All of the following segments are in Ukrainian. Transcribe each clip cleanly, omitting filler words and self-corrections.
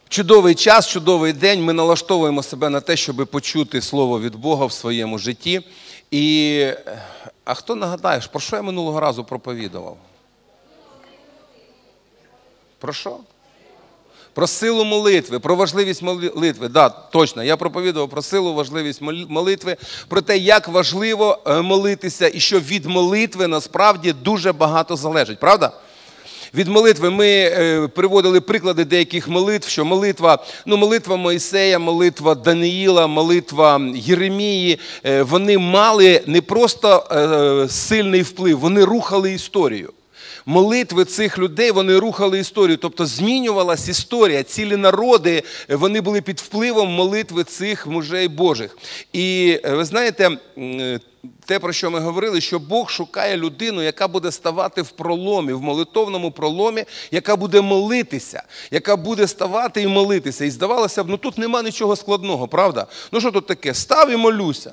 Чудовий час, чудовий день. Ми налаштовуємо себе на те, щоб почути Слово від Бога в своєму житті. А хто нагадає, про що я минулого разу проповідував? Про що? Про силу молитви, про важливість молитви. Так, точно, я проповідував про силу, важливість молитви, про те, як важливо молитися і що від молитви насправді дуже багато залежить. Правда? Від молитви ми приводили приклади деяких молитв, що молитва Мойсея, молитва Даниїла, молитва Єремії, вони мали не просто сильний вплив, вони рухали історію. Молитви цих людей, вони рухали історію, тобто змінювалась історія, цілі народи, вони були під впливом молитви цих мужей Божих. І ви знаєте, те, про що ми говорили, що Бог шукає людину, яка буде ставати в проломі, в молитовному проломі, яка буде молитися, яка буде ставати і молитися. І здавалося б, тут нема нічого складного, правда? Що тут таке? Став і молюся.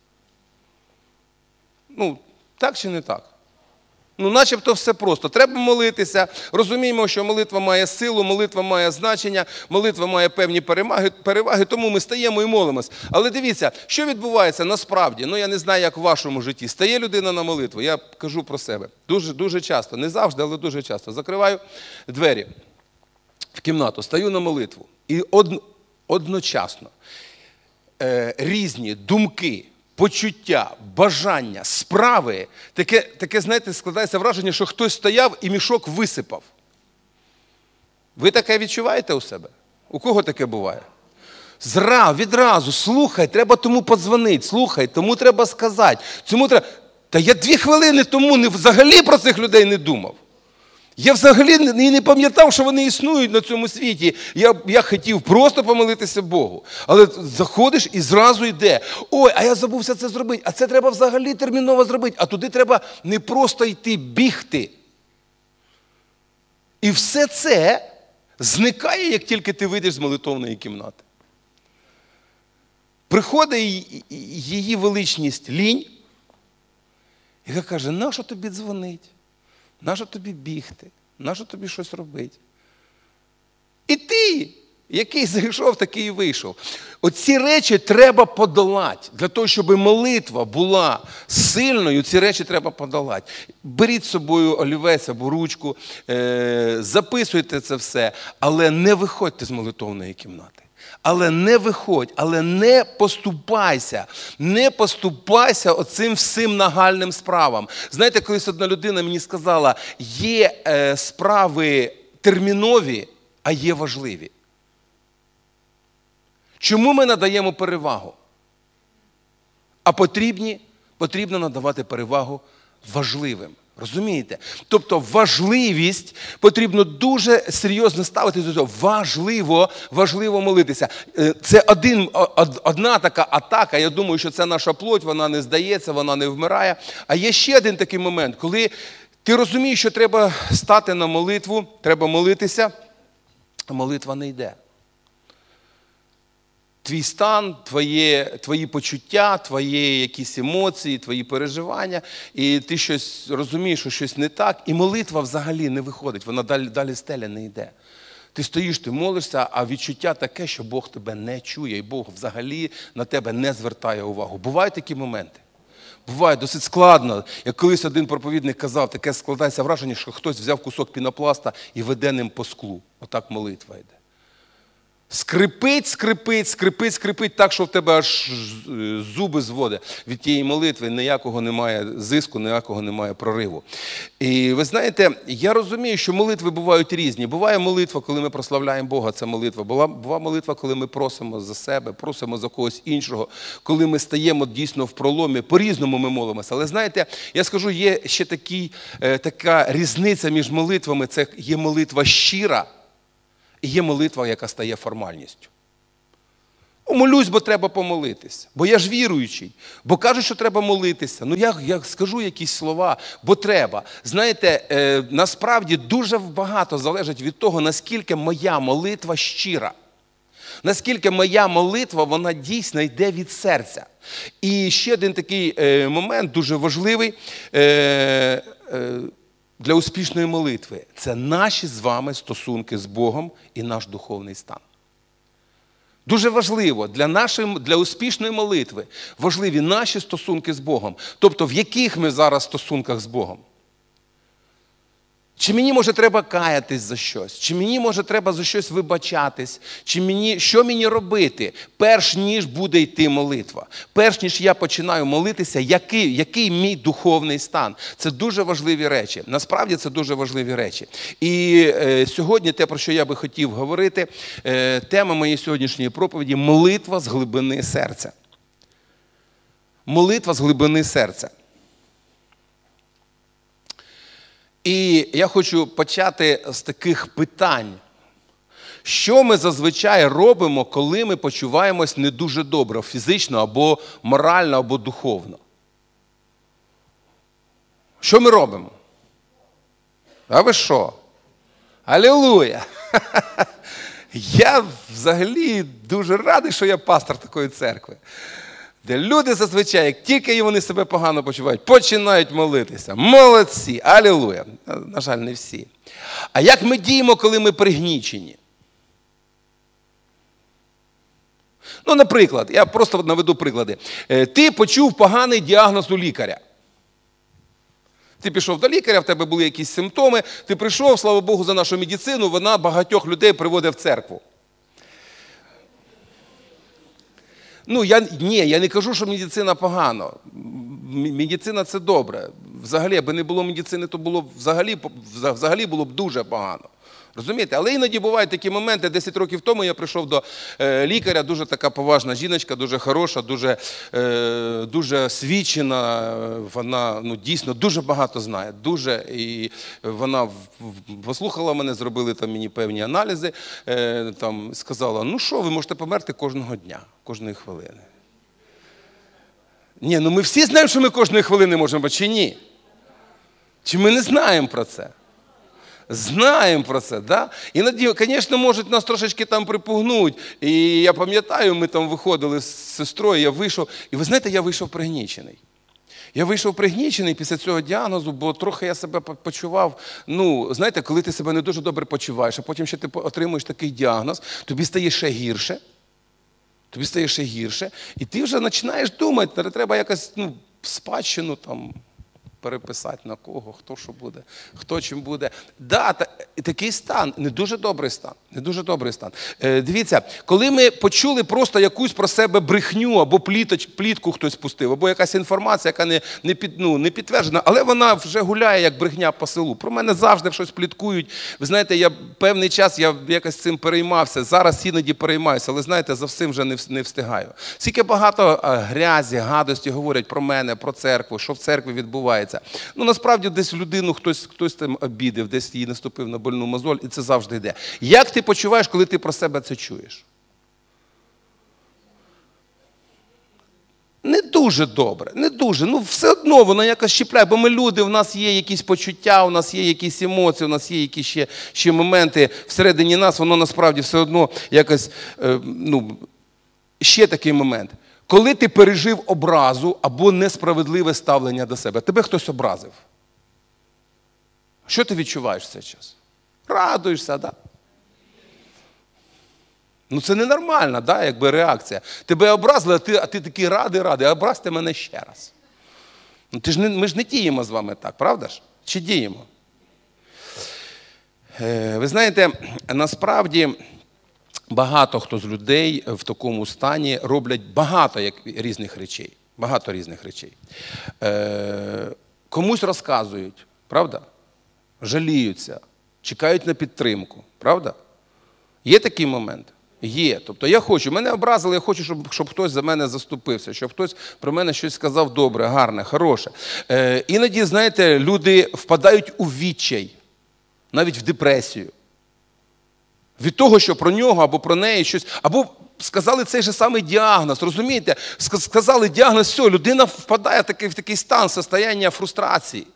Так чи не так? Начебто все просто. Треба молитися. Розуміємо, що молитва має силу, молитва має значення, молитва має певні переваги, тому ми стаємо і молимось. Але дивіться, що відбувається насправді, я не знаю, як в вашому житті. Стає людина на молитву, я кажу про себе. Дуже часто, не завжди, але дуже часто. Закриваю двері в кімнату, стаю на молитву. І одночасно різні думки, почуття, бажання, справи, таке, знаєте, складається враження, що хтось стояв і мішок висипав. Ви таке відчуваєте у себе? У кого таке буває? Відразу, слухай, треба тому подзвонити, слухай, тому треба сказати, Та я 2 хвилини тому взагалі про цих людей не думав. Я взагалі не пам'ятав, що вони існують на цьому світі. Я хотів просто помолитися Богу. Але заходиш і зразу йде. Ой, а я забувся це зробити. А це треба взагалі терміново зробити. А туди треба не просто йти, бігти. І все це зникає, як тільки ти вийдеш з молитовної кімнати. Приходить її величність лінь, яка каже, нащо тобі дзвонить? Нащо тобі бігти? Нащо тобі щось робити? І ти, який зайшов, такий і вийшов. Оці речі треба подолати. Для того, щоб молитва була сильною, ці речі треба подолати. Беріть з собою олівець або ручку, записуйте це все, але не виходьте з молитовної кімнати. Але не виходь, але не поступайся оцим всім нагальним справам. Знаєте, колись одна людина мені сказала, є справи термінові, а є важливі. Чому ми надаємо перевагу? А потрібно надавати перевагу важливим. Розумієте? Тобто важливість потрібно дуже серйозно ставити до цього. Важливо молитися. Це одна така атака, я думаю, що це наша плоть, вона не здається, вона не вмирає. А є ще один такий момент, коли ти розумієш, що треба стати на молитву, треба молитися, а молитва не йде. Твій стан, твої почуття, твої якісь емоції, твої переживання, і ти щось розумієш, що щось не так, і молитва взагалі не виходить, вона далі стеля не йде. Ти стоїш, ти молишся, а відчуття таке, що Бог тебе не чує, і Бог взагалі на тебе не звертає увагу. Бувають такі моменти. Буває досить складно. Як колись один проповідник казав, таке складається враження, що хтось взяв кусок пінопласта і веде ним по склу. Отак молитва йде. Скрипить так, що в тебе аж зуби зводить від тієї молитви, ніякого немає зиску, ніякого немає прориву. І ви знаєте, я розумію, що молитви бувають різні. Буває молитва, коли ми прославляємо Бога, це молитва. Буває молитва, коли ми просимо за себе, просимо за когось іншого, коли ми стаємо дійсно в проломі, по-різному ми молимося. Але знаєте, я скажу, є ще така різниця між молитвами, це є молитва щира, і є молитва, яка стає формальністю. Молюсь, бо треба помолитися. Бо я ж віруючий. Бо кажуть, що треба молитися. Я скажу якісь слова, бо треба. Знаєте, насправді дуже багато залежить від того, наскільки моя молитва щира. Наскільки моя молитва, вона дійсно йде від серця. І ще один такий момент, дуже важливий, для успішної молитви – це наші з вами стосунки з Богом і наш духовний стан. Дуже важливо для успішної молитви важливі наші стосунки з Богом. Тобто, в яких ми зараз стосунках з Богом? Чи мені, може, треба каятись за щось? Чи мені, може, треба за щось вибачатись? Що мені робити, перш ніж буде йти молитва? Перш ніж я починаю молитися, який мій духовний стан? Це дуже важливі речі. Насправді це дуже важливі речі. І сьогодні те, про що я би хотів говорити, тема моєї сьогоднішньої проповіді – молитва з глибини серця. Молитва з глибини серця. І я хочу почати з таких питань. Що ми зазвичай робимо, коли ми почуваємось не дуже добре, фізично, або морально, або духовно? Що ми робимо? А ви що? Алілуя! Я взагалі дуже радий, що я пастор такої церкви. Де люди зазвичай, як тільки вони себе погано почувають, починають молитися. Молодці! Алілуя! На жаль, не всі. А як ми діємо, коли ми пригнічені? Ну, наприклад, я просто наведу приклади. Ти почув поганий діагноз у лікаря. Ти пішов до лікаря, в тебе були якісь симптоми, ти прийшов, слава Богу, за нашу медицину, вона багатьох людей приводить в церкву. Ну, я не кажу, що медицина погано. Медицина – це добре. Взагалі, аби не було медицини, то було взагалі було б дуже погано. Розумієте? Але іноді бувають такі моменти. 10 років тому я прийшов до лікаря, дуже така поважна жіночка, дуже хороша, дуже освічена. Вона дійсно дуже багато знає. І вона послухала мене, зробили там мені певні аналізи, сказала, ну що, ви можете померти кожного дня, кожної хвилини. Ні, ми всі знаємо, що ми кожної хвилини можемо, чи ні? Чи ми не знаємо про це? Знаємо про це, да? Іноді, звісно, можуть нас трошечки там припугнуть. І я пам'ятаю, ми там виходили з сестрою, я вийшов, і ви знаєте, я вийшов пригнічений. Я вийшов пригнічений після цього діагнозу, бо трохи я себе почував, знаєте, коли ти себе не дуже добре почуваєш, а потім ще ти отримуєш такий діагноз, тобі стає ще гірше. І ти вже починаєш думати, треба якось спадщину там переписати на кого, хто що буде, хто чим буде. Такий стан, не дуже добрий стан. Дивіться, коли ми почули просто якусь про себе брехню, або плітку хтось пустив, або якась інформація, яка не підтверджена, але вона вже гуляє, як брехня по селу. Про мене завжди щось пліткують. Ви знаєте, певний час я якось цим переймався, зараз іноді переймаюся, але знаєте, за всім вже не встигаю. Скільки багато грязі, гадості говорять про мене, про церкву, що в церкві відбувається. Насправді, десь людину хтось там обідив, десь їй наступив на больну мозоль, і це завжди йде. Як ти почуваєш, коли ти про себе це чуєш? Не дуже добре, не дуже. Все одно воно якось щіпляє, бо ми люди, у нас є якісь почуття, у нас є якісь емоції, у нас є якісь ще моменти всередині нас, воно насправді все одно якось, ще такий момент. Коли ти пережив образу або несправедливе ставлення до себе, тебе хтось образив. Що ти відчуваєш в цей час? Радуєшся, так? Це ненормальна, реакція. Тебе образили, а ти такий радий, образьте мене ще раз. Ми ж не діємо з вами так, правда ж? Чи діємо? Ви знаєте, насправді багато хто з людей в такому стані роблять багато різних речей. Комусь розказують, правда? Жаліються, чекають на підтримку, правда? Є такий момент? Є. Тобто мене образили, я хочу, щоб хтось за мене заступився, щоб хтось про мене щось сказав добре, гарне, хороше. Іноді, знаєте, люди впадають у відчай, навіть в депресію. Від того, що про нього або про неї щось, або сказали цей же самий діагноз, розумієте? Сказали діагноз, все, людина впадає в такий стан, состояння фрустрації.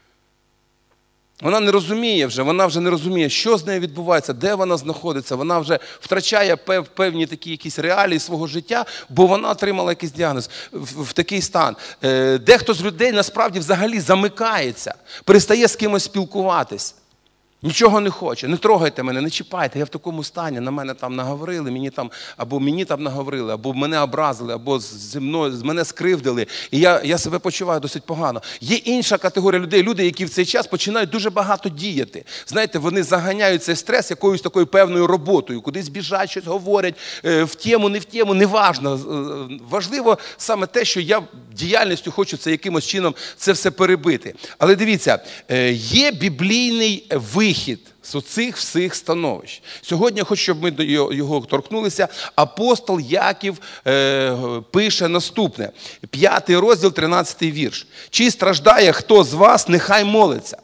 Вона не розуміє, що з нею відбувається, де вона знаходиться. Вона вже втрачає певні такі якісь реалії свого життя, бо вона отримала якийсь діагноз в такий стан. Дехто з людей насправді взагалі замикається, перестає з кимось спілкуватись. Нічого не хоче, не трогайте мене, не чіпайте, я в такому стані, на мене там наговорили, мені там наговорили, або мене образили, або з мене скривдили, і я себе почуваю досить погано. Є інша категорія людей, люди, які в цей час починають дуже багато діяти. Знаєте, вони заганяють цей стрес якоюсь такою певною роботою, кудись біжать, щось говорять, в тему, не в тему, неважно. Важливо саме те, що я діяльністю хочу це якимось чином це все перебити. Але дивіться, є біблійний вихід з оцих всіх становищ. Сьогодні я хочу, щоб ми до його торкнулися. Апостол Яків пише наступне. 5 розділ, 13 вірш. «Чи страждає хто з вас, нехай молиться.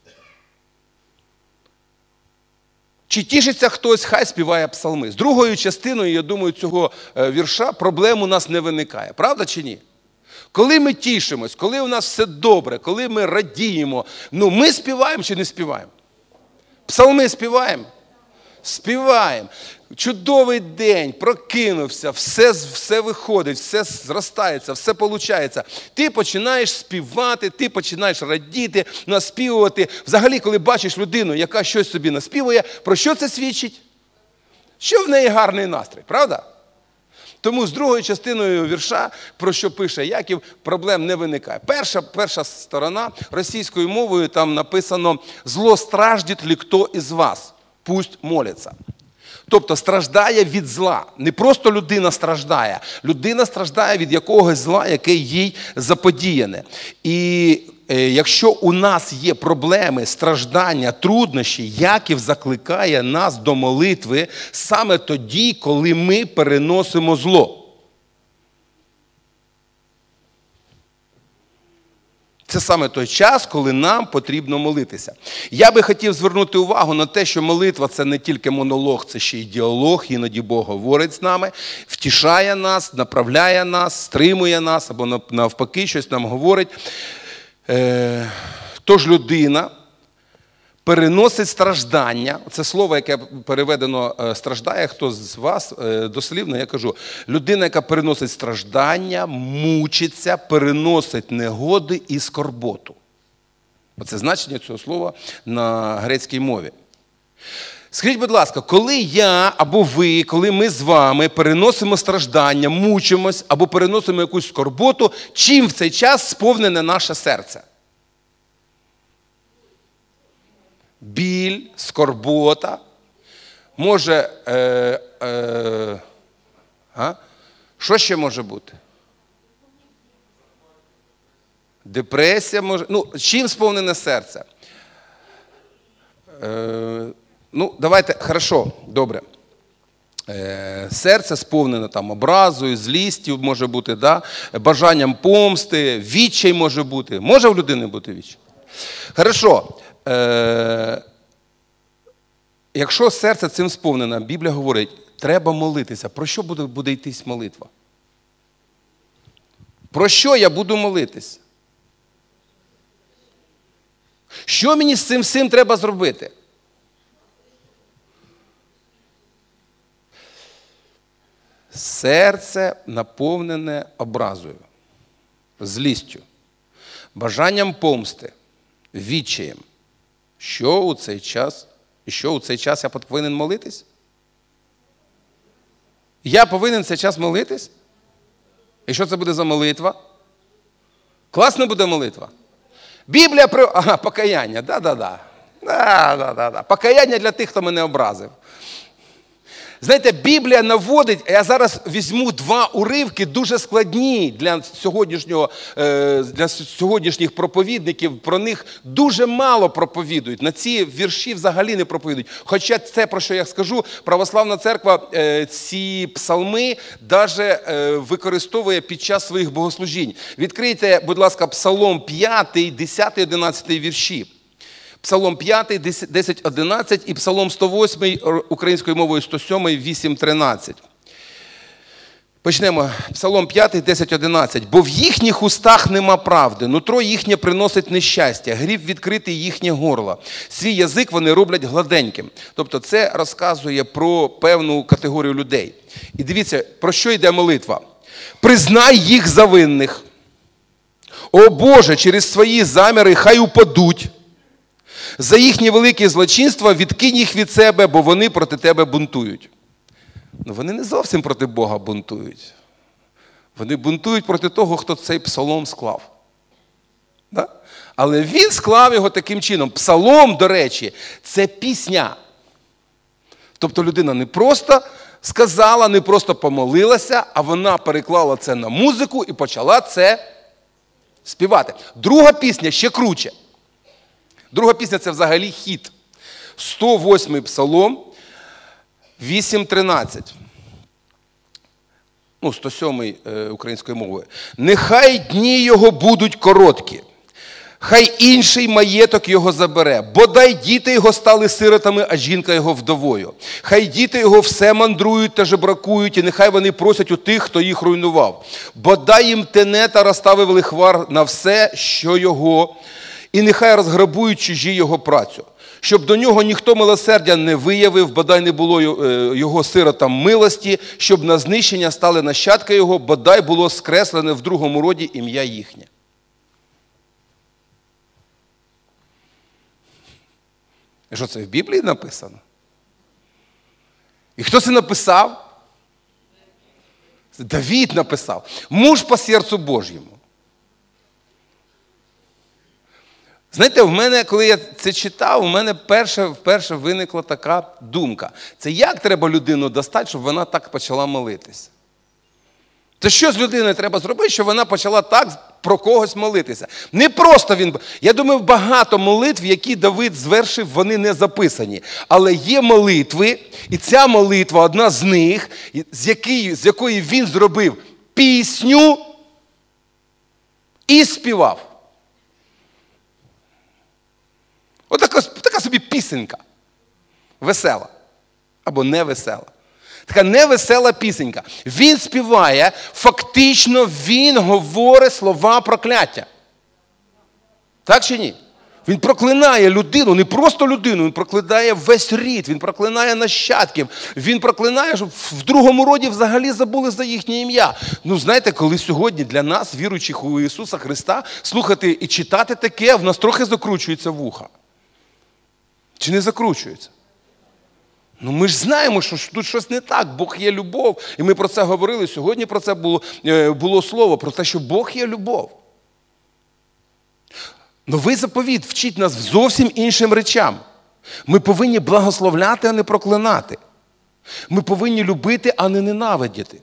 Чи тішиться хтось, хай співає псалми». З другою частиною, я думаю, цього вірша проблем у нас не виникає. Правда чи ні? Коли ми тішимось, коли у нас все добре, коли ми радіємо, ми співаємо чи не співаємо? Псалми співаємо? Співаємо. Чудовий день, прокинувся, все виходить, все зростається, все виходить. Ти починаєш співати, ти починаєш радіти, наспівувати. Взагалі, коли бачиш людину, яка щось собі наспівує, про що це свідчить? Що в неї гарний настрій, правда? Тому з другою частиною вірша, про що пише Яків, проблем не виникає. Перша сторона російською мовою там написано «Зло страждет ли хто із вас, пусть молиться». Тобто страждає від зла. Не просто людина страждає від якогось зла, яке їй заподіяне. І якщо у нас є проблеми, страждання, труднощі, Яків закликає нас до молитви саме тоді, коли ми переносимо зло. Це саме той час, коли нам потрібно молитися. Я би хотів звернути увагу на те, що молитва – це не тільки монолог, це ще й діалог. Іноді Бог говорить з нами, втішає нас, направляє нас, стримує нас, або навпаки щось нам говорить. Тож людина переносить страждання. Це слово, яке переведено «страждає», хто з вас, дослівно я кажу, людина, яка переносить страждання, мучиться, переносить негоди і скорботу. Оце значення цього слова на грецькій мові. Скажіть, будь ласка, коли я або ви, коли ми з вами переносимо страждання, мучимось або переносимо якусь скорботу, чим в цей час сповнене наше серце? Біль, скорбота, може, що ще може бути? Депресія може, чим сповнене серце? Давайте, хорошо, добре. Серце сповнене там образою, злістю може бути, да? Бажанням помсти, відчай може бути. Може в людини бути відчай? Хорошо. Якщо серце цим сповнене, Біблія говорить, треба молитися. Про що буде йтись молитва? Про що я буду молитись? Що мені з цим всім треба зробити? Серце наповнене образою, злістю, бажанням помсти, відчаєм. Що у цей час я повинен молитись? Я повинен цей час молитись? І що це буде за молитва? Класна буде молитва. Біблія про... покаяння, да. Покаяння для тих, хто мене образив. Знаєте, Біблія наводить, я зараз візьму 2 уривки, дуже складні для сьогоднішніх проповідників, про них дуже мало проповідують, на ці вірші взагалі не проповідують. Хоча це, про що я скажу, православна церква ці псалми навіть використовує під час своїх богослужінь. Відкрийте, будь ласка, Псалом 5, 10, 11 вірші. Псалом 5, 10, 11 і Псалом 108 українською мовою 107, 8, 13. Почнемо. Псалом 5, 10, 11. «Бо в їхніх устах нема правди, нутро їхнє приносить нещастя, гріб відкритий їхнє горло. Свій язик вони роблять гладеньким». Тобто це розказує про певну категорію людей. І дивіться, про що йде молитва. «Признай їх за винних. О Боже, через свої заміри хай упадуть. За їхні великі злочинства відкинь їх від себе, бо вони проти тебе бунтують. Ну, вони не зовсім проти Бога бунтують. Вони бунтують проти того, хто цей псалом склав. Да? Але він склав його таким чином. Псалом, до речі, це пісня. Тобто людина не просто сказала, не просто помолилася, а вона переклала це на музику і почала це співати. Друга пісня ще круче. Друга пісня – це взагалі хіт. 108-й псалом, 8:13. 107-й українською мовою. «Нехай дні його будуть короткі, хай інший маєток його забере. Бодай діти його стали сиротами, а жінка його вдовою. Хай діти його все мандрують та жебракують, і нехай вони просять у тих, хто їх руйнував. Бодай їм тенета розставив лихвар на все, що його, і нехай розграбують чужі його працю. Щоб до нього ніхто милосердя не виявив, бодай не було його сиротам милості, щоб на знищення стали нащадки його, бодай було скреслене в другому роді ім'я їхнє». І що це в Біблії написано? І хто це написав? Давид написав. Муж по серцю Божьому. Знаєте, в мене, коли я це читав, у мене вперше виникла така думка. Це як треба людину достати, щоб вона так почала молитись? Це що з людиною треба зробити, щоб вона почала так про когось молитися? Не просто він... Я думаю, багато молитв, які Давид звершив, вони не записані. Але є молитви, і ця молитва, одна з них, з якої він зробив пісню і співав. Така собі пісенька. Весела. Або невесела. Така невесела пісенька. Він співає, фактично він говорить слова прокляття. Так чи ні? Він проклинає людину, не просто людину, він проклинає весь рід, він проклинає нащадків, він проклинає, щоб в другому роді взагалі забули за їхнє ім'я. Ну, знаєте, коли сьогодні для нас, віруючих у Ісуса Христа, слухати і читати таке, в нас трохи закручується вуха. Чи не закручується? Ну ми ж знаємо, що тут щось не так. Бог є любов. І ми про це говорили. Сьогодні про це було слово. Про те, що Бог є любов. Новий заповіт вчить нас зовсім іншим речам. Ми повинні благословляти, а не проклинати. Ми повинні любити, а не ненавидіти.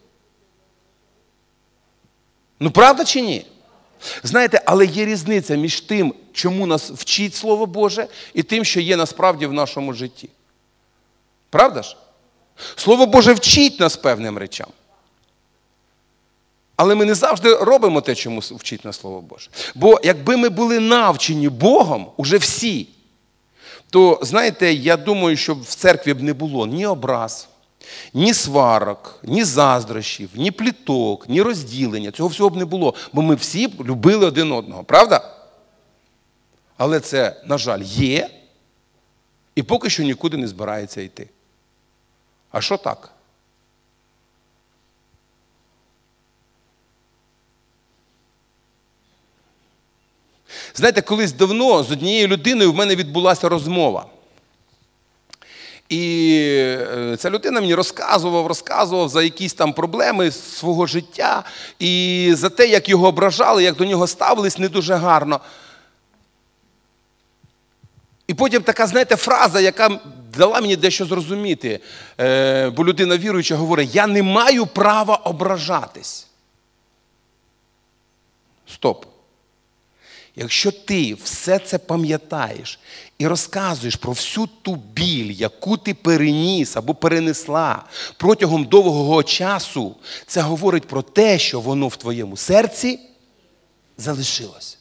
Ну правда чи ні? Знаєте, але є різниця між тим, чому нас вчить Слово Боже, і тим, що є насправді в нашому житті. Правда ж? Слово Боже вчить нас певним речам. Але ми не завжди робимо те, чому вчить нас Слово Боже. Бо якби ми були навчені Богом, уже всі, то, знаєте, я думаю, що в церкві б не було ні образ, ні сварок, ні заздрощів, ні пліток, ні розділення. Цього всього б не було, бо ми всі б любили один одного. Правда? Але це, на жаль, є, і поки що нікуди не збирається йти. А що так? Знаєте, колись давно з однією людиною в мене відбулася розмова. І ця людина мені розказував за якісь там проблеми свого життя і за те, як його ображали, як до нього ставились не дуже гарно. І потім така, знаєте, фраза, яка дала мені дещо зрозуміти, бо людина віруюча говорить: я не маю права ображатись. Стоп. Якщо ти все це пам'ятаєш і розказуєш про всю ту біль, яку ти переніс або перенесла протягом довгого часу, це говорить про те, що воно в твоєму серці залишилось.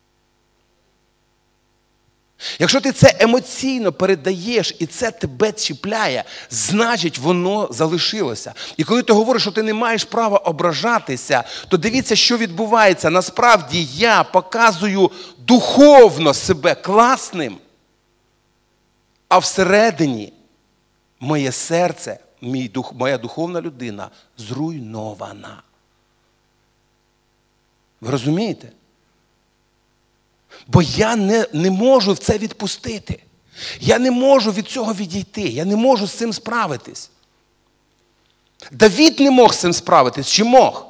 Якщо ти це емоційно передаєш і це тебе чіпляє, значить воно залишилося. І коли ти говориш, що ти не маєш права ображатися, то дивіться, що відбувається. Насправді я показую духовно себе класним, а всередині моє серце, моя духовна людина зруйнована. Ви розумієте? Бо я не можу це відпустити. Я не можу від цього відійти. Я не можу з цим справитись. Давид не мог з цим справитись. Чи мог?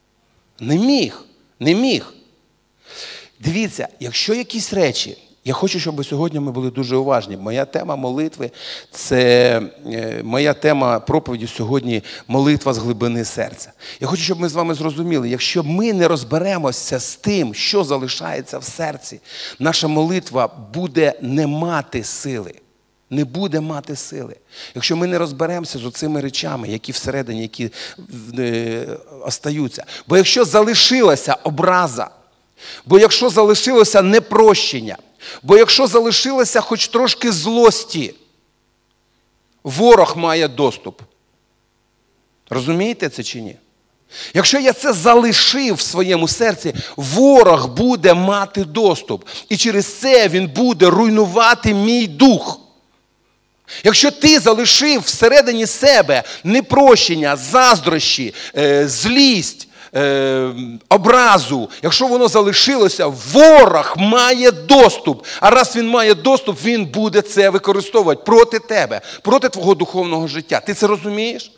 Не міг. Дивіться, якщо якісь речі, я хочу, щоб сьогодні ми були дуже уважні. Моя тема молитви, моя тема проповіді сьогодні – молитва з глибини серця. Я хочу, щоб ми з вами зрозуміли, якщо ми не розберемося з тим, що залишається в серці, наша молитва буде не мати сили. Не буде мати сили. Якщо ми не розберемося з оцими речами, які всередині, які остаються. Бо якщо залишилася образа, бо якщо залишилося непрощення, бо якщо залишилося хоч трошки злості, ворог має доступ. Розумієте це чи ні? Якщо я це залишив в своєму серці, ворог буде мати доступ. І через це він буде руйнувати мій дух. Якщо ти залишив всередині себе непрощення, заздрощі, злість, образу, якщо воно залишилося, ворог має доступ. А раз він має доступ, він буде це використовувати проти тебе, проти твого духовного життя. Ти це розумієш?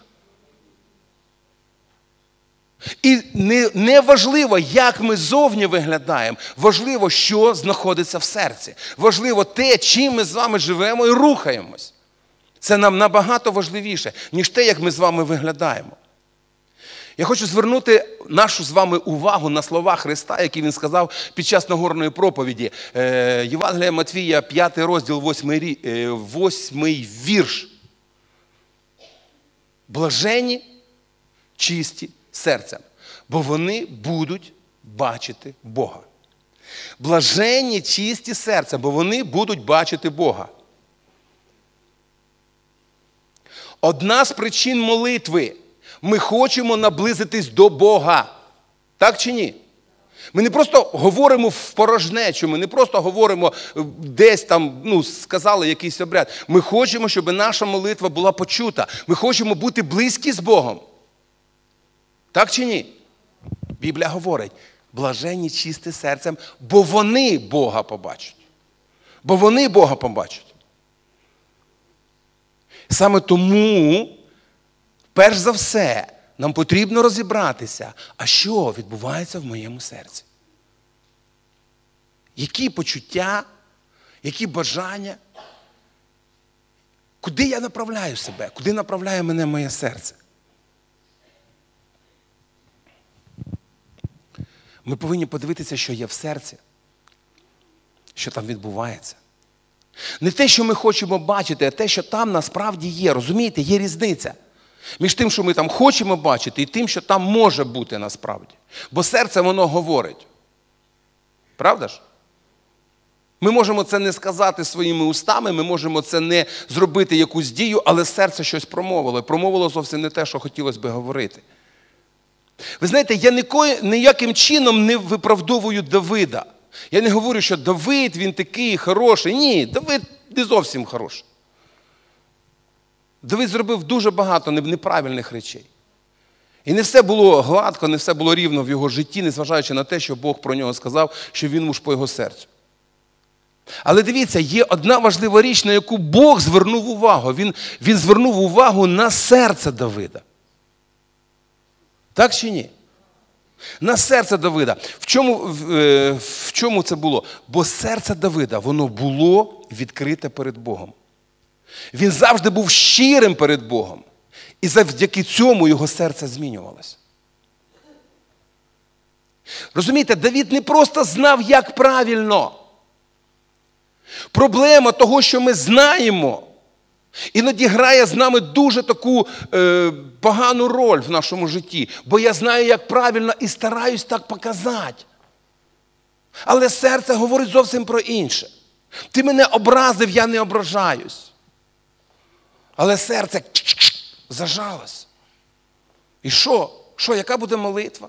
І не важливо, як ми зовні виглядаємо, важливо, що знаходиться в серці. Важливо те, чим ми з вами живемо і рухаємось. Це нам набагато важливіше, ніж те, як ми з вами виглядаємо. Я хочу звернути нашу з вами увагу на слова Христа, які Він сказав під час Нагорної проповіді. Євангелія Матвія, 5 розділ, 8 вірш. Блаженні, чисті серцем, бо вони будуть бачити Бога. Блаженні, чисті серцем, бо вони будуть бачити Бога. Одна з причин молитви – ми хочемо наблизитись до Бога. Так чи ні? Ми не просто говоримо в порожнечу, ми не просто говоримо десь там, сказали якийсь обряд. Ми хочемо, щоб наша молитва була почута. Ми хочемо бути близькі з Богом. Так чи ні? Біблія говорить, блаженні чисті серцем, бо вони Бога побачать. Бо вони Бога побачать. Саме тому, перш за все, нам потрібно розібратися, а що відбувається в моєму серці. Які почуття, які бажання, куди я направляю себе, куди направляє мене моє серце. Ми повинні подивитися, що є в серці, що там відбувається. Не те, що ми хочемо бачити, а те, що там насправді є. Розумієте, є різниця між тим, що ми там хочемо бачити, і тим, що там може бути насправді. Бо серце, воно говорить. Правда ж? Ми можемо це не сказати своїми устами, ми можемо це не зробити якусь дію, але серце щось промовило. І промовило зовсім не те, що хотілося би говорити. Ви знаєте, я ніяким чином не виправдовую Давида. Я не говорю, що Давид, він такий хороший. Ні, Давид не зовсім хороший. Давид зробив дуже багато неправильних речей. І не все було гладко, не все було рівно в його житті, незважаючи на те, що Бог про нього сказав, що він муж по його серцю. Але дивіться, є одна важлива річ, на яку Бог звернув увагу. Він звернув увагу на серце Давида. Так чи ні? На серце Давида. В чому це було? Бо серце Давида, воно було відкрите перед Богом. Він завжди був щирим перед Богом. І завдяки цьому його серце змінювалося. Розумієте, Давид не просто знав, як правильно. Проблема того, що ми знаємо, іноді грає з нами дуже таку погану роль в нашому житті. Бо я знаю, як правильно і стараюсь так показати. Але серце говорить зовсім про інше. Ти мене образив, я не ображаюсь. Але серце зажалось. І що? Що, яка буде молитва?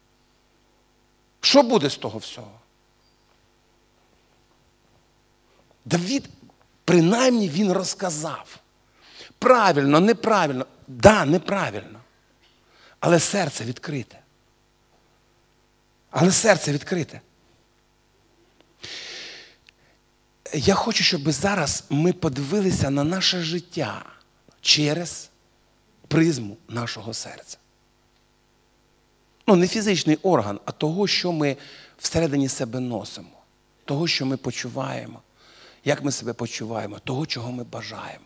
Що буде з того всього? Давид, принаймні, він розказав. Правильно, неправильно. Да, неправильно. Але серце відкрите. я хочу, щоб зараз ми подивилися на наше життя через призму нашого серця. Не фізичний орган, а того, що ми всередині себе носимо. Того, що ми почуваємо. Як ми себе почуваємо. Того, чого ми бажаємо.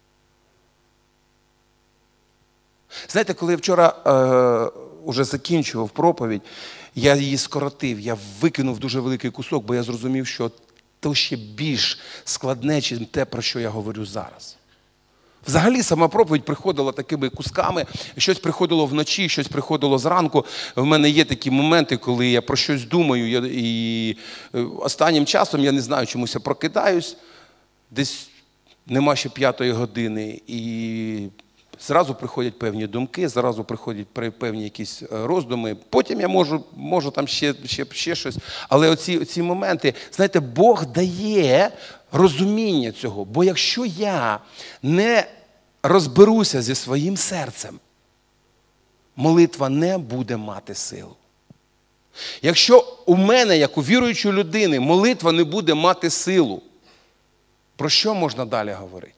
Знаєте, коли я вчора уже закінчував проповідь, я її скоротив, я викинув дуже великий кусок, бо я зрозумів, що то ще більш складне, ніж те, про що я говорю зараз. Взагалі сама проповідь приходила такими кусками, щось приходило вночі, щось приходило зранку. В мене є такі моменти, коли я про щось думаю, і останнім часом, я не знаю, чомусь я прокидаюсь, десь нема ще 5-ї години, і зразу приходять певні думки, зразу приходять певні якісь роздуми. Потім я можу там ще щось. Але оці моменти, знаєте, Бог дає розуміння цього. Бо якщо я не розберуся зі своїм серцем, молитва не буде мати силу. Якщо у мене, як у віруючої людини, молитва не буде мати силу, про що можна далі говорити?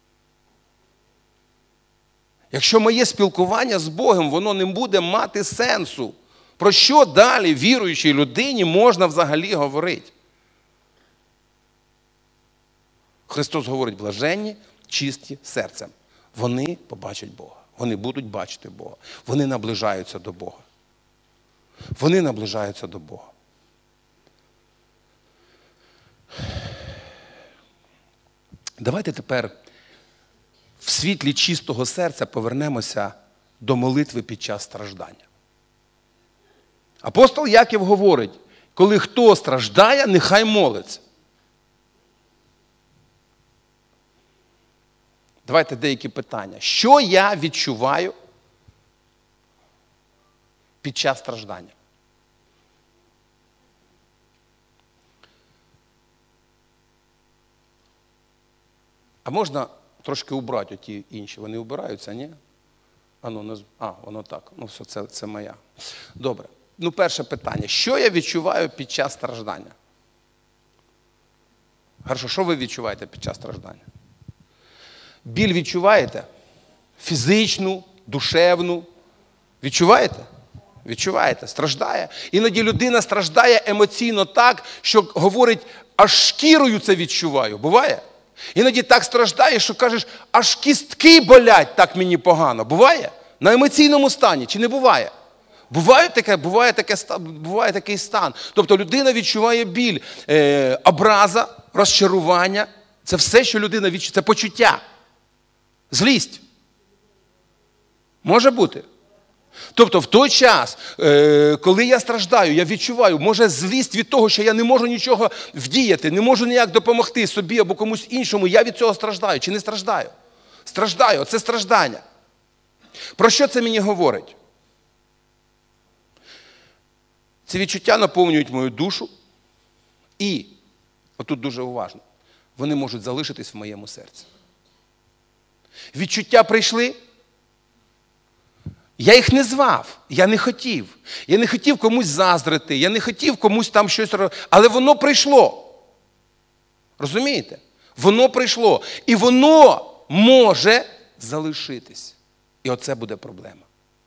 Якщо моє спілкування з Богом, воно не буде мати сенсу, про що далі віруючій людині можна взагалі говорити? Христос говорить: блаженні, чисті серцем. Вони побачать Бога. Вони будуть бачити Бога. Вони наближаються до Бога. Вони наближаються до Бога. Давайте тепер в світлі чистого серця повернемося до молитви під час страждання. Апостол Яків говорить: коли хто страждає, нехай молиться. Давайте деякі питання. Що я відчуваю під час страждання? А можна трошки убрати оті інші? Вони убираються, ні? Воно так. Все, це моя. Добре. Перше питання. Що я відчуваю під час страждання? Хорошо, що ви відчуваєте під час страждання? Біль відчуваєте? Фізичну, душевну? Відчуваєте? Відчуваєте. Страждає. Іноді людина страждає емоційно так, що говорить: аж шкірою це відчуваю. Буває? Іноді так страждає, що кажеш: аж кістки болять, так мені погано. Буває? На емоційному стані. Чи не буває? Буває такий стан. Тобто людина відчуває біль, образа, розчарування. Це все, що людина відчуває. Це почуття. Злість. Може бути. Тобто в той час, коли я страждаю, я відчуваю, може, злість від того, що я не можу нічого вдіяти, не можу ніяк допомогти собі або комусь іншому, я від цього страждаю. Чи не страждаю? Страждаю. Це страждання. Про що це мені говорить? Ці відчуття наповнюють мою душу і, отут дуже уважно, вони можуть залишитись в моєму серці. Відчуття прийшли, я їх не звав, я не хотів. Я не хотів комусь заздрити, я не хотів комусь там щось робити, але воно прийшло. Розумієте? Воно прийшло. І воно може залишитись. І оце буде проблема.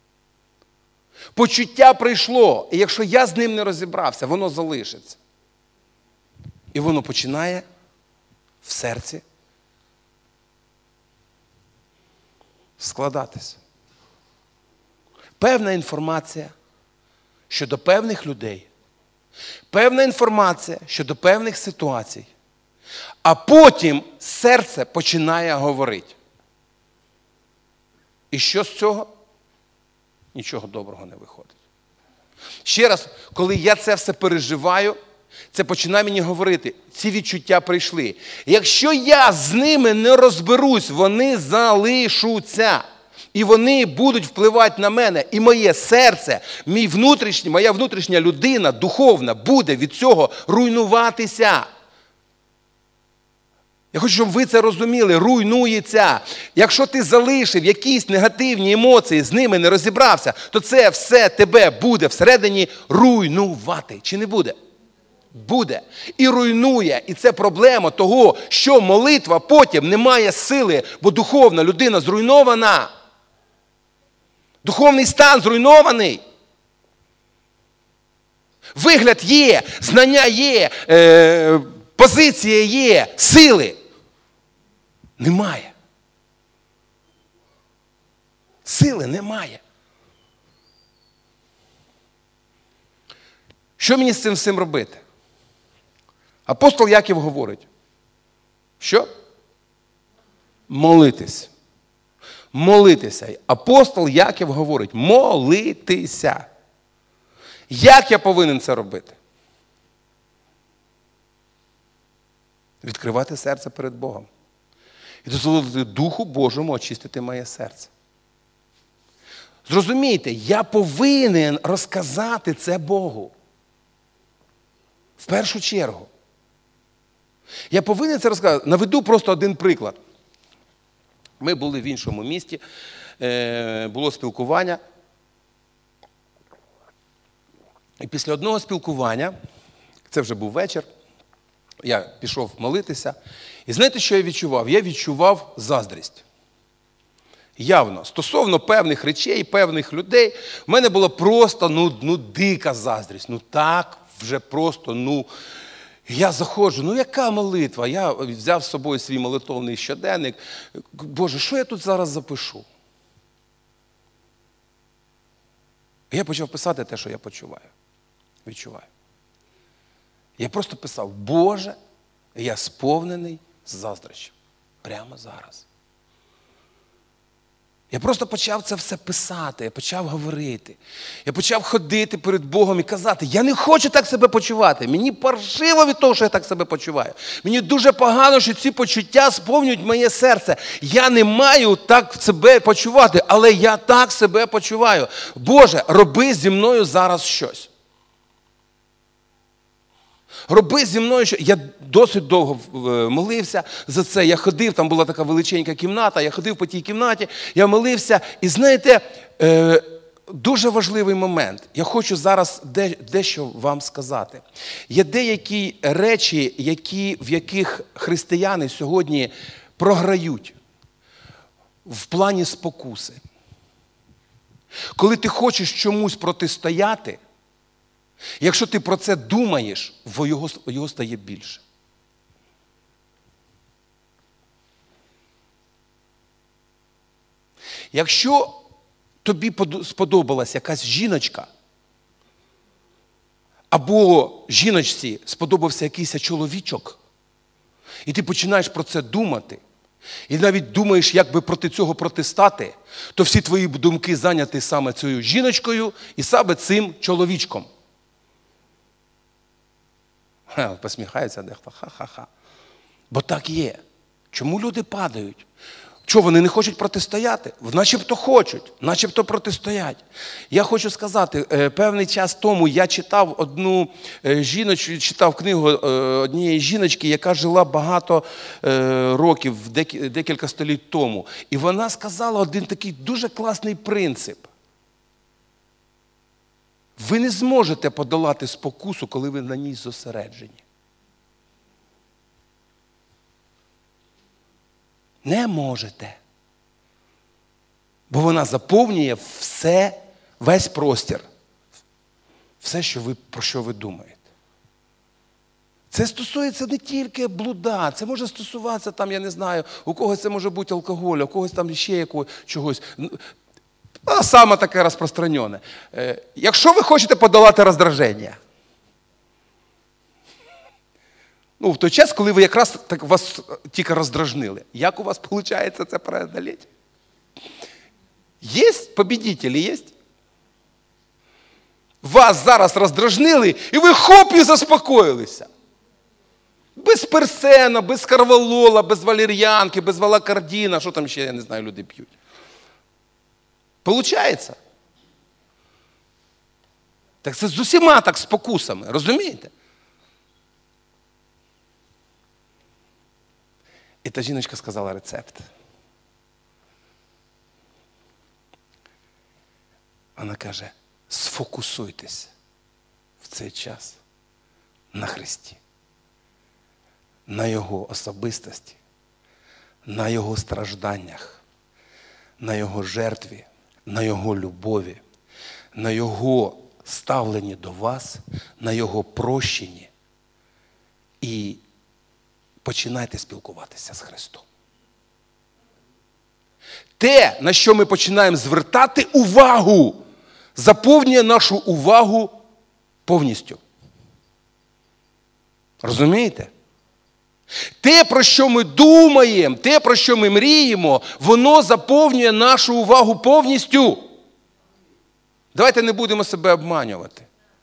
Почуття прийшло, і якщо я з ним не розібрався, воно залишиться. І воно починає в серці складатися. Певна інформація щодо певних людей, певна інформація щодо певних ситуацій, а потім серце починає говорити. І що з цього? Нічого доброго не виходить. Ще раз, коли я це все переживаю, це починає мені говорити: ці відчуття прийшли. Якщо я з ними не розберусь, вони залишаться. І вони будуть впливати на мене. І моє серце, моя внутрішня людина, духовна, буде від цього руйнуватися. Я хочу, щоб ви це розуміли. Руйнується. Якщо ти залишив якісь негативні емоції, з ними не розібрався, то це все тебе буде всередині руйнувати. Чи не буде? буде. І руйнує. І це проблема того, що молитва потім не має сили, бо духовна людина зруйнована. Духовний стан зруйнований. Вигляд є, знання є, позиція є, сили немає. Сили немає. Що мені з цим всім робити? Апостол Яків говорить. Що? Молитись. Молитися. Апостол Яків говорить, молитися. Як я повинен це робити? Відкривати серце перед Богом. І дозволити Духу Божому очистити моє серце. Зрозумійте, я повинен розказати це Богу. В першу чергу. Я повинен це розказати. Наведу просто один приклад. Ми були в іншому місті, було спілкування. І після одного спілкування, це вже був вечір, я пішов молитися. І знаєте, що я відчував? Я відчував заздрість. Явно. Стосовно певних речей, певних людей, в мене була просто, дика заздрість. Так вже просто, я заходжу, яка молитва? Я взяв з собою свій молитовний щоденник. Боже, що я тут зараз запишу? І я почав писати те, що я відчуваю. Я просто писав, Боже, я сповнений заздрощів. Прямо зараз. Я просто почав це все писати, я почав говорити. Я почав ходити перед Богом і казати, я не хочу так себе почувати. Мені паршиво від того, що я так себе почуваю. Мені дуже погано, що ці почуття сповнюють моє серце. Я не маю так себе почувати, але я так себе почуваю. Боже, роби зі мною зараз щось. Роби зі мною щось. Я досить довго молився за це. Я ходив, там була така величенька кімната, я ходив по тій кімнаті, я молився. І знаєте, дуже важливий момент. Я хочу зараз дещо вам сказати. Є деякі речі, в яких християни сьогодні програють в плані спокуси. Коли ти хочеш чомусь протистояти, якщо ти про це думаєш, його стає більше. Якщо тобі сподобалась якась жіночка, або жіночці сподобався якийсь чоловічок, і ти починаєш про це думати, і навіть думаєш, як би проти цього протистати, то всі твої думки зайняті саме цією жіночкою і саме цим чоловічком. Посміхається дехто, ха-ха-ха. Бо так є. Чому люди падають? Чого, вони не хочуть протистояти? Начебто хочуть, начебто протистоять. Я хочу сказати, певний час тому я читав читав книгу однієї жіночки, яка жила багато років, декілька століть тому. І вона сказала один такий дуже класний принцип. Ви не зможете подолати спокусу, коли ви на ній зосереджені. Не можете. Бо вона заповнює весь простір. Все, про що ви думаєте. Це стосується не тільки блуда, це може стосуватися, я не знаю, у когось це може бути алкоголь, у когось там ще чогось. Саме таке розпространене. Якщо ви хочете подолати роздраження, в той час, коли ви якраз вас тільки роздражнили, як у вас виходить це преодолеть? Є победителі, є? Вас зараз роздражнили, і ви хоп, і заспокоїлися. Без персена, без карвалола, без валер'янки, без валакардіна, що там ще, я не знаю, люди п'ють. Получається? Так це з усіма так спокусами, розумієте? І та жіночка сказала рецепт. Вона каже, сфокусуйтесь в цей час на Христі, на Його особистості, на Його стражданнях, на Його жертві, на Його любові, на Його ставленні до вас, на Його прощенні. І починайте спілкуватися з Христом. Те, на що ми починаємо звертати увагу, заповнює нашу увагу повністю. Розумієте? Те, про що ми думаємо, те, про що ми мріємо, воно заповнює нашу увагу повністю. Давайте не будемо себе обманювати.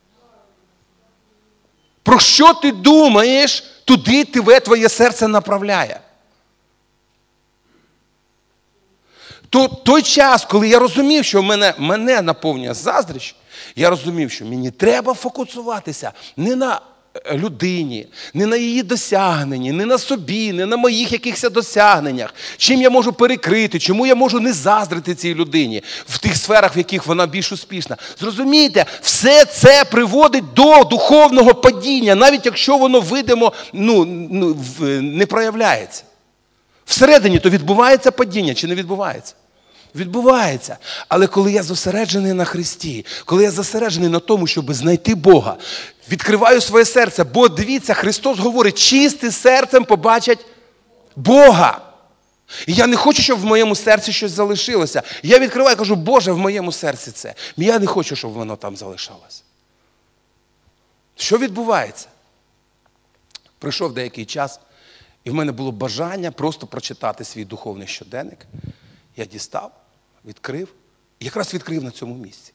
Про що ти думаєш, туди тебе твоє серце направляє. Той час, коли я розумів, що мене наповнює заздрість, я розумів, що мені треба фокусуватися не на людині, не на її досягненні, не на собі, не на моїх якихось досягненнях. Чим я можу перекрити, чому я можу не заздрити цій людині в тих сферах, в яких вона більш успішна. Зрозумійте, все це приводить до духовного падіння, навіть якщо воно видимо, не проявляється. Всередині то відбувається падіння чи не відбувається? Відбувається. Але коли я зосереджений на Христі, коли я зосереджений на тому, щоб знайти Бога, відкриваю своє серце, бо дивіться, Христос говорить, чистим серцем побачать Бога. І я не хочу, щоб в моєму серці щось залишилося. Я відкриваю і кажу, Боже, в моєму серці це. Я не хочу, щоб воно там залишалося. Що відбувається? Пройшов деякий час, і в мене було бажання просто прочитати свій духовний щоденник. Я дістав, відкрив, і якраз відкрив на цьому місці.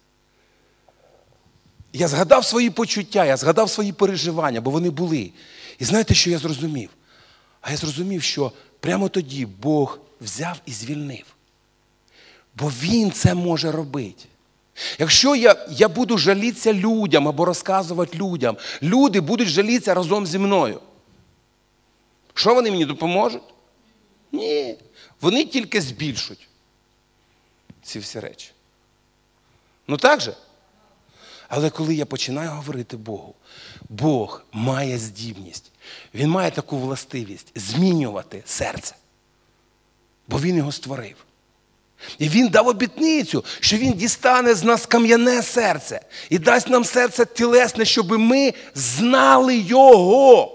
Я згадав свої почуття, я згадав свої переживання, бо вони були. І знаєте, що я зрозумів? А я зрозумів, що прямо тоді Бог взяв і звільнив. Бо Він це може робити. Якщо я буду жалітися людям або розказувати людям, люди будуть жалітися разом зі мною. Що вони мені допоможуть? Ні. Вони тільки збільшуть ці всі речі. Ну так же? Але коли я починаю говорити Богу, Бог має здібність, Він має таку властивість змінювати серце. Бо Він його створив. І Він дав обітницю, що Він дістане з нас кам'яне серце і дасть нам серце тілесне, щоб ми знали Його.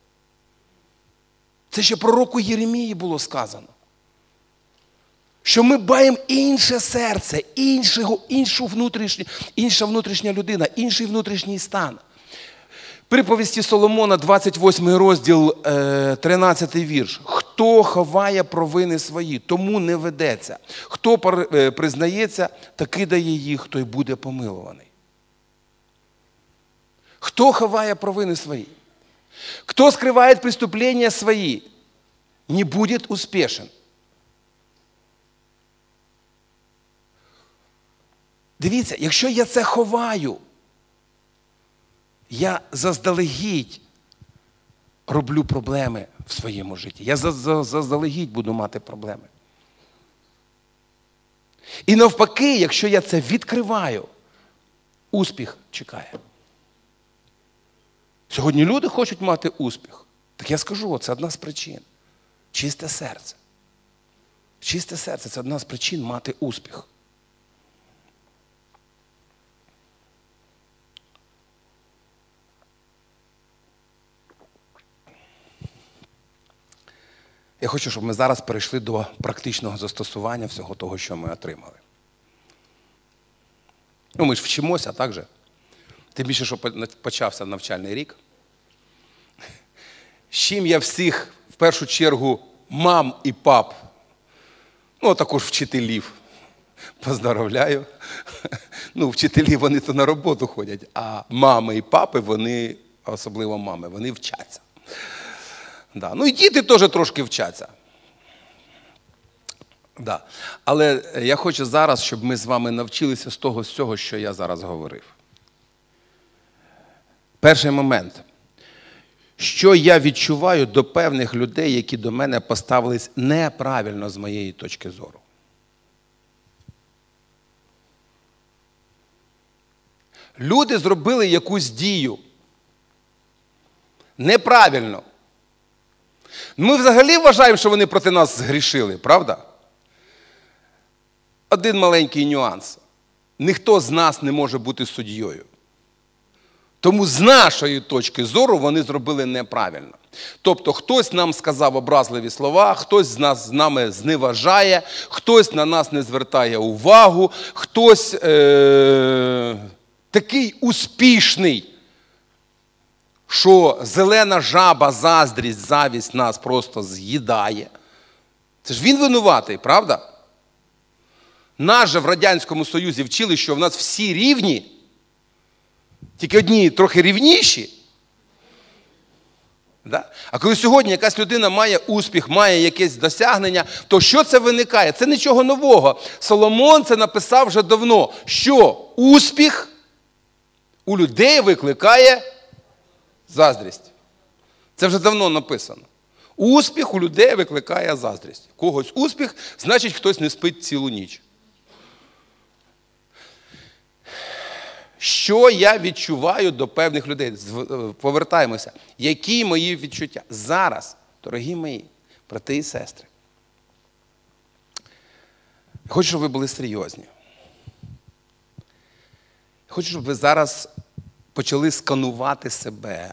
Це ще пророку Єремії було сказано. Що ми маємо інше серце, інша внутрішня людина, інший внутрішній стан. Приповісті Соломона, 28 розділ, 13 вірш. Хто ховає провини свої, тому не ведеться. Хто признається, таки дає їх, той буде помилуваний. Хто ховає провини свої? Кто скрывает преступления свои, не будет успешен. Дивіться, якщо я це ховаю, я заздалегідь роблю проблеми в своєму житті. Я заздалегідь буду мати проблеми. І навпаки, якщо я це відкриваю, успіх чекає. Сьогодні люди хочуть мати успіх. Так я скажу, це одна з причин. Чисте серце. Чисте серце – це одна з причин мати успіх. Я хочу, щоб ми зараз перейшли до практичного застосування всього того, що ми отримали. Ми ж вчимося, так же? Тим більше, що почався навчальний рік. З чим я всіх, в першу чергу, мам і пап, також вчителів, поздоровляю. Вчителі, вони то на роботу ходять, а мами і папи, вони, особливо мами, вони вчаться. Да. І діти теж трошки вчаться. Да. Але я хочу зараз, щоб ми з вами навчилися з того всього, що я зараз говорив. Перший момент. Що я відчуваю до певних людей, які до мене поставились неправильно з моєї точки зору. Люди зробили якусь дію. Неправильно. Ми взагалі вважаємо, що вони проти нас згрішили, правда? Один маленький нюанс. Ніхто з нас не може бути суддєю. Тому з нашої точки зору вони зробили неправильно. Тобто хтось нам сказав образливі слова, хтось з нами зневажає, хтось на нас не звертає увагу, хтось такий успішний, що зелена жаба, заздрість, завість нас просто з'їдає. Це ж він винуватий, правда? Нас же в Радянському Союзі вчили, що в нас всі рівні, тільки одні трохи рівніші. Да? А коли сьогодні якась людина має успіх, має якесь досягнення, то що це виникає? Це нічого нового. Соломон це написав вже давно, що успіх у людей викликає заздрість. Це вже давно написано. Успіх у людей викликає заздрість. Когось успіх, значить хтось не спить цілу ніч. Що я відчуваю до певних людей? Повертаємося. Які мої відчуття? Зараз, дорогі мої брати і сестри, я хочу, щоб ви були серйозні. Я хочу, щоб ви зараз почали сканувати себе,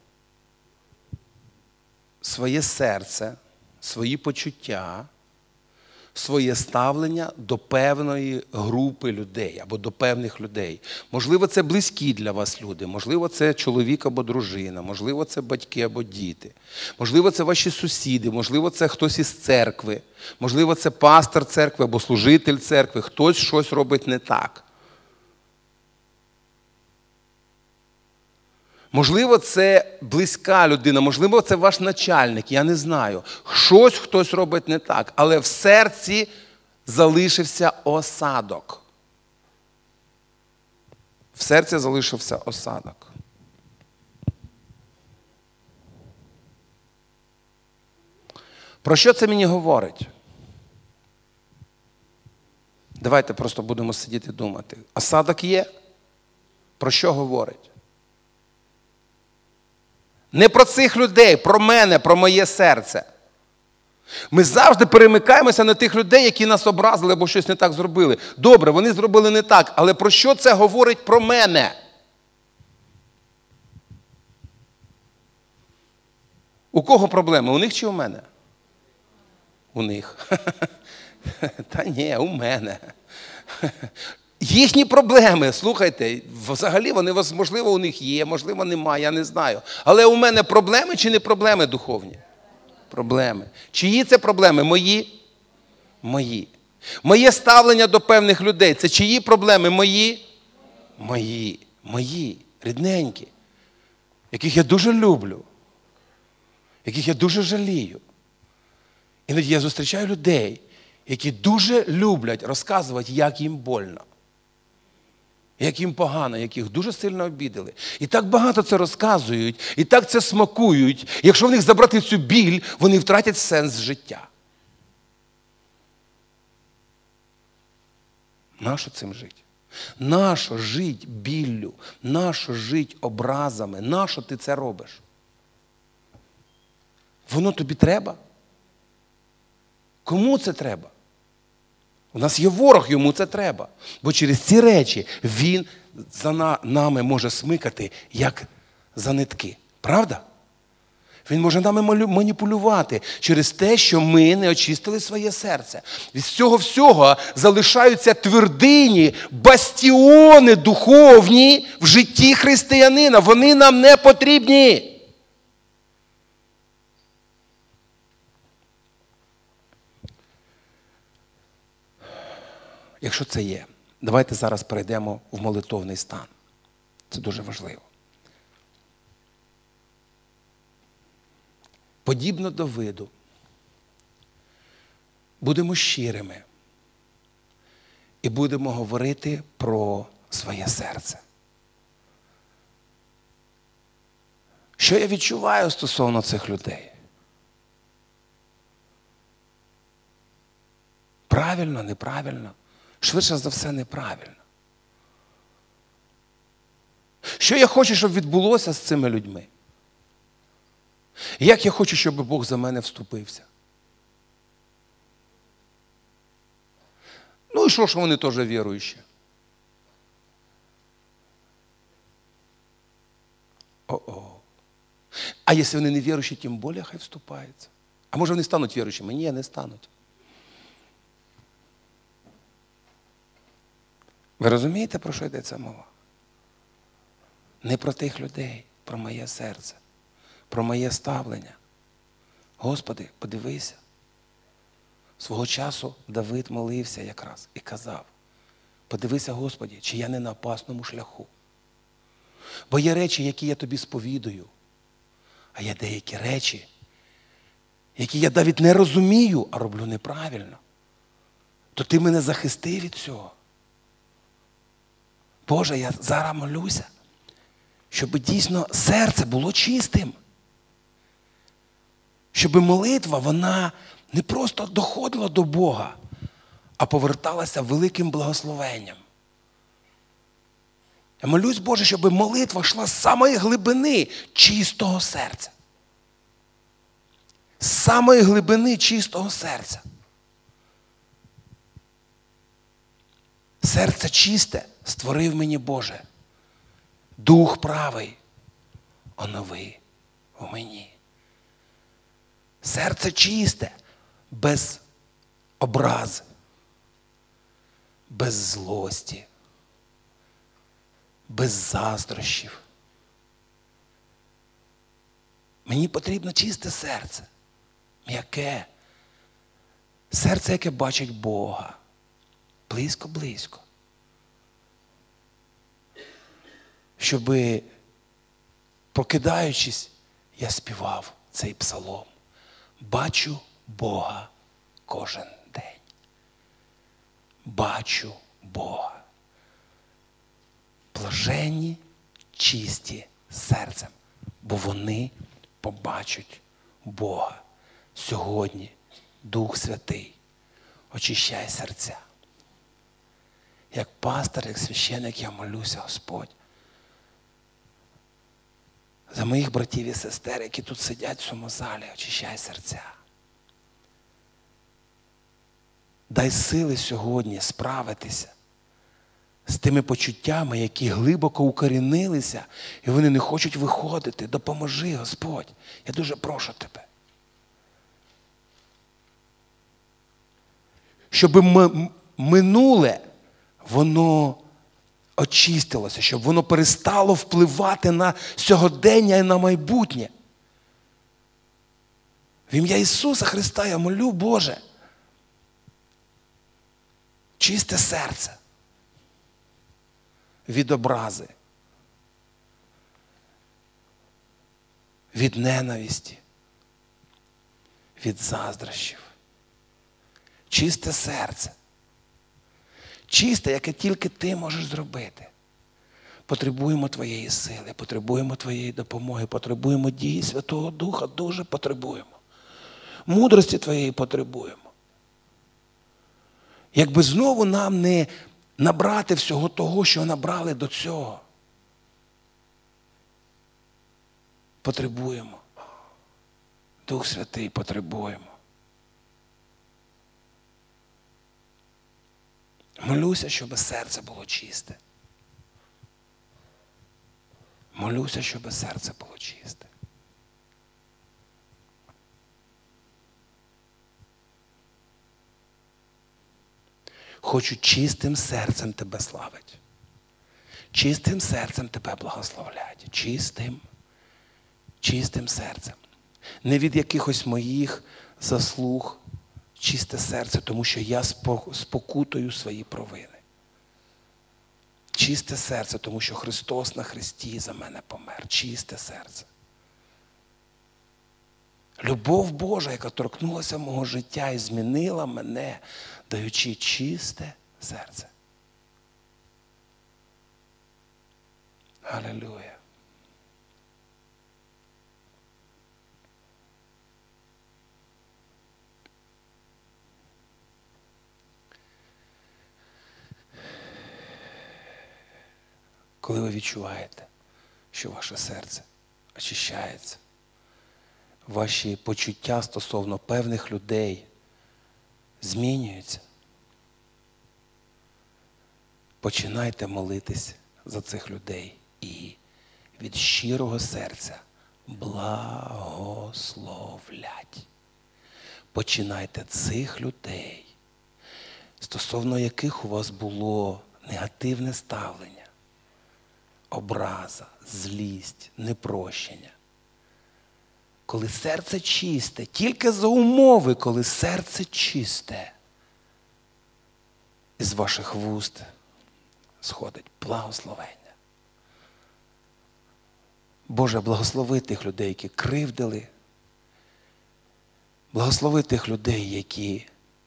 своє серце, свої почуття, своє ставлення до певної групи людей або до певних людей. Можливо, це близькі для вас люди, можливо, це чоловік або дружина, можливо, це батьки або діти, можливо, це ваші сусіди, можливо, це хтось із церкви, можливо, це пастор церкви або служитель церкви, хтось щось робить не так. Можливо, це близька людина, можливо, це ваш начальник, я не знаю. Щось хтось робить не так, але в серці залишився осадок. В серці залишився осадок. Про що це мені говорить? Давайте просто будемо сидіти думати. Осадок є? Про що говорить? Не про цих людей, про мене, про моє серце. Ми завжди перемикаємося на тих людей, які нас образили або щось не так зробили. Добре, вони зробили не так, але про що це говорить про мене? У кого проблеми? У них чи у мене? У них. Та ні, у мене. Їхні проблеми, слухайте, взагалі вони, можливо, у них є, можливо, немає, я не знаю. Але у мене проблеми чи не проблеми духовні? Проблеми. Чиї це проблеми? Мої? Мої. Моє ставлення до певних людей – це чиї проблеми? Мої? Мої. Мої. Рідненькі. Яких я дуже люблю. Яких я дуже жалію. Іноді я зустрічаю людей, які дуже люблять розказувати, як їм больно. Як їм погано, як їх дуже сильно обідали. І так багато це розказують, і так це смакують. Якщо в них забрати цю біль, вони втратять сенс життя. Нащо цим жити? Нащо жити біллю? Нащо жити образами? Нащо ти це робиш? Воно тобі треба? Кому це треба? У нас є ворог, йому це треба. Бо через ці речі він за нами може смикати, як за нитки. Правда? Він може нами маніпулювати через те, що ми не очистили своє серце. Від цього всього залишаються твердині, бастіони духовні в житті християнина. Вони нам не потрібні. Якщо це є, давайте зараз перейдемо в молитовний стан. Це дуже важливо. Подібно до виду, будемо щирими і будемо говорити про своє серце. Що я відчуваю стосовно цих людей? Правильно, неправильно? Швидше за все, неправильно. Що я хочу, щоб відбулося з цими людьми? Як я хочу, щоб Бог за мене вступився. Ну і що вони теж віруючі? О-о. А якщо вони не віруючі, тим більше хай вступаються. А може вони стануть віруючими? Ні, не стануть. Ви розумієте, про що йдеться мова? Не про тих людей, про моє серце, про моє ставлення. Господи, подивися. Свого часу Давид молився якраз і казав: подивися, Господи, чи я не на опасному шляху. Бо є речі, які я тобі сповідую, а є деякі речі, які я навіть не розумію, а роблю неправильно. То ти мене захисти від цього. Боже, я зараз молюся, щоб дійсно серце було чистим. Щоб молитва, вона не просто доходила до Бога, а поверталася великим благословенням. Я молюсь, Боже, щоб молитва йшла з самої глибини чистого серця. З самої глибини чистого серця. Серце чисте створив мені, Боже. Дух правий онови у мені. Серце чисте, без образи, без злості, без заздрощів. Мені потрібно чисте серце, м'яке. Серце, яке бачить Бога. Близько-близько. Щоби, прокидаючись, я співав цей псалом. Бачу Бога кожен день. Бачу Бога. Блаженні, чисті серцем, бо вони побачать Бога. Сьогодні Дух Святий очищай серця. Як пастор, як священик я молюся, Господь, за моїх братів і сестер, які тут сидять в цьому залі, очищай серця. Дай сили сьогодні справитися з тими почуттями, які глибоко укорінилися, і вони не хочуть виходити. Допоможи, Господь. Я дуже прошу Тебе. Щоб минуле, воно очистилося, щоб воно перестало впливати на сьогодення і на майбутнє. В ім'я Ісуса Христа я молю, Боже, чисте серце від образи, від ненависті, від заздрощів. Чисте серце. Чисте, яке тільки ти можеш зробити. Потребуємо твоєї сили, потребуємо твоєї допомоги, потребуємо дії Святого Духа, дуже потребуємо. Мудрості твоєї потребуємо. Якби знову нам не набрати всього того, що набрали до цього. Потребуємо. Дух Святий, потребуємо. Молюся, щоб серце було чисте. Молюся, щоб серце було чисте. Хочу чистим серцем Тебе славити. Чистим серцем Тебе благословляти. Чистим серцем. Не від якихось моїх заслуг, чисте серце, тому що я спокутую свої провини. Чисте серце, тому що Христос на хресті за мене помер. Чисте серце. Любов Божа, яка торкнулася мого життя і змінила мене, даючи чисте серце. Алілуя. Коли ви відчуваєте, що ваше серце очищається, ваші почуття стосовно певних людей змінюються, починайте молитись за цих людей і від щирого серця благословлять. Починайте цих людей, стосовно яких у вас було негативне ставлення, образа, злість, непрощення. Коли серце чисте, тільки за умови, коли серце чисте, із ваших вуст сходить благословення. Боже, благослови тих людей, які кривдили. Благослови тих людей, які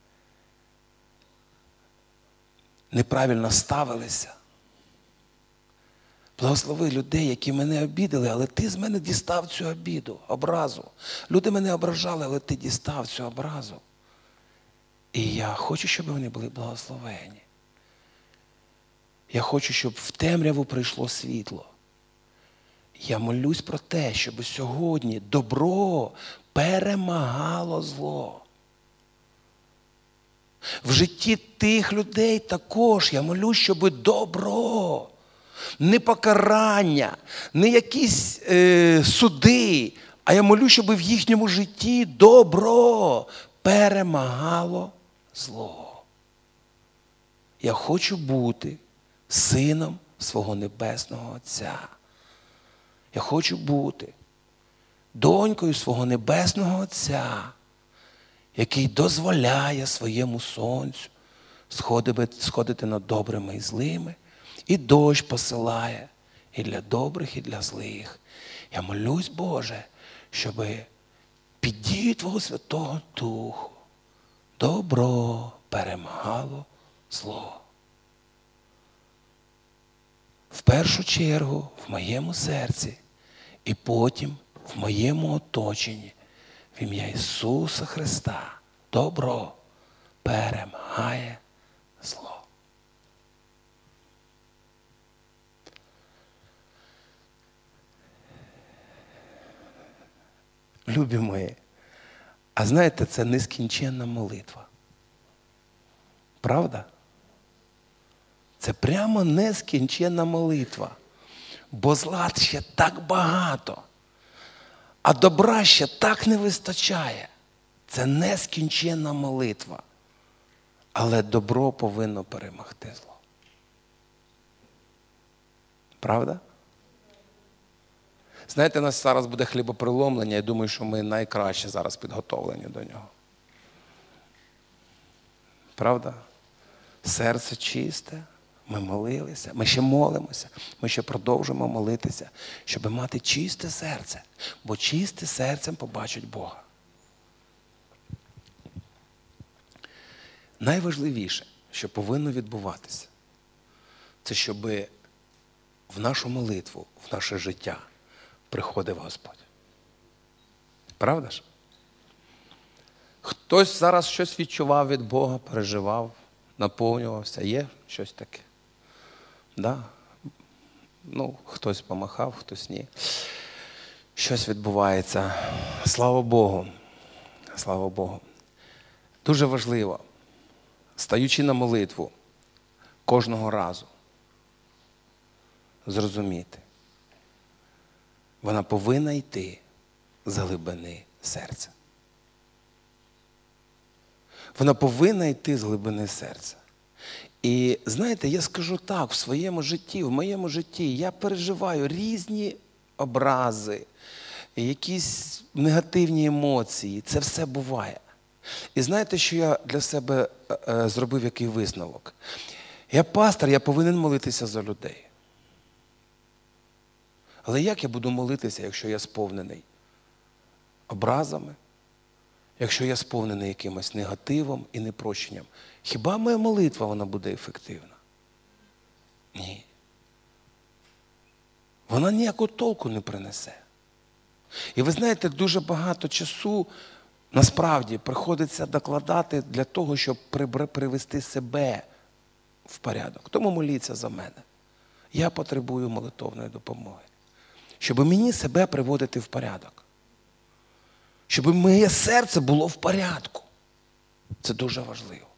неправильно ставилися. Благослови людей, які мене обідали, але ти з мене дістав цю обіду, образу. Люди мене ображали, але ти дістав цю образу. І я хочу, щоб вони були благословені. Я хочу, щоб в темряву прийшло світло. Я молюсь про те, щоб сьогодні добро перемагало зло. В житті тих людей також я молюсь, щоб добро, не покарання, не якісь суди, а я молюсь, щоб в їхньому житті добро перемагало зло. Я хочу бути сином свого Небесного Отця. Я хочу бути донькою свого Небесного Отця, який дозволяє своєму сонцю сходити над добрими і злими, і дощ посилає і для добрих, і для злих. Я молюсь, Боже, щоб під дією Твого Святого Духу добро перемагало зло. В першу чергу в моєму серці і потім в моєму оточенні в ім'я Ісуса Христа добро перемагає зло. Любі мої, а знаєте, це нескінченна молитва. Правда? Це прямо нескінченна молитва. Бо зла ще так багато, а добра ще так не вистачає. Це нескінченна молитва. Але добро повинно перемогти зло. Правда? Знаєте, у нас зараз буде хлібопреломлення, я думаю, що ми найкраще зараз підготовлені до нього. Правда? Серце чисте, ми молилися, ми ще молимося, ми ще продовжуємо молитися, щоб мати чисте серце, бо чисте серцем побачить Бога. Найважливіше, що повинно відбуватися, це щоб в нашу молитву, в наше життя приходив Господь. Правда ж? Хтось зараз щось відчував від Бога, переживав, наповнювався. Є щось таке? Да? Ну, хтось помахав, хтось ні. Щось відбувається. Слава Богу. Слава Богу. Дуже важливо, стаючи на молитву, кожного разу зрозуміти, вона повинна йти з глибини серця. Вона повинна йти з глибини серця. І знаєте, я скажу так, в своєму житті, в моєму житті я переживаю різні образи, якісь негативні емоції. Це все буває. І знаєте, що я для себе зробив який висновок? Я пастор, я повинен молитися за людей. Але як я буду молитися, якщо я сповнений образами, якщо я сповнений якимось негативом і непрощенням? Хіба моя молитва, вона буде ефективна? Ні. Вона ніякого толку не принесе. І ви знаєте, дуже багато часу насправді приходиться докладати для того, щоб привести себе в порядок. Тому моліться за мене. Я потребую молитовної допомоги. Щоб мені себе приводити в порядок. щоб моє серце було в порядку. Це дуже важливо.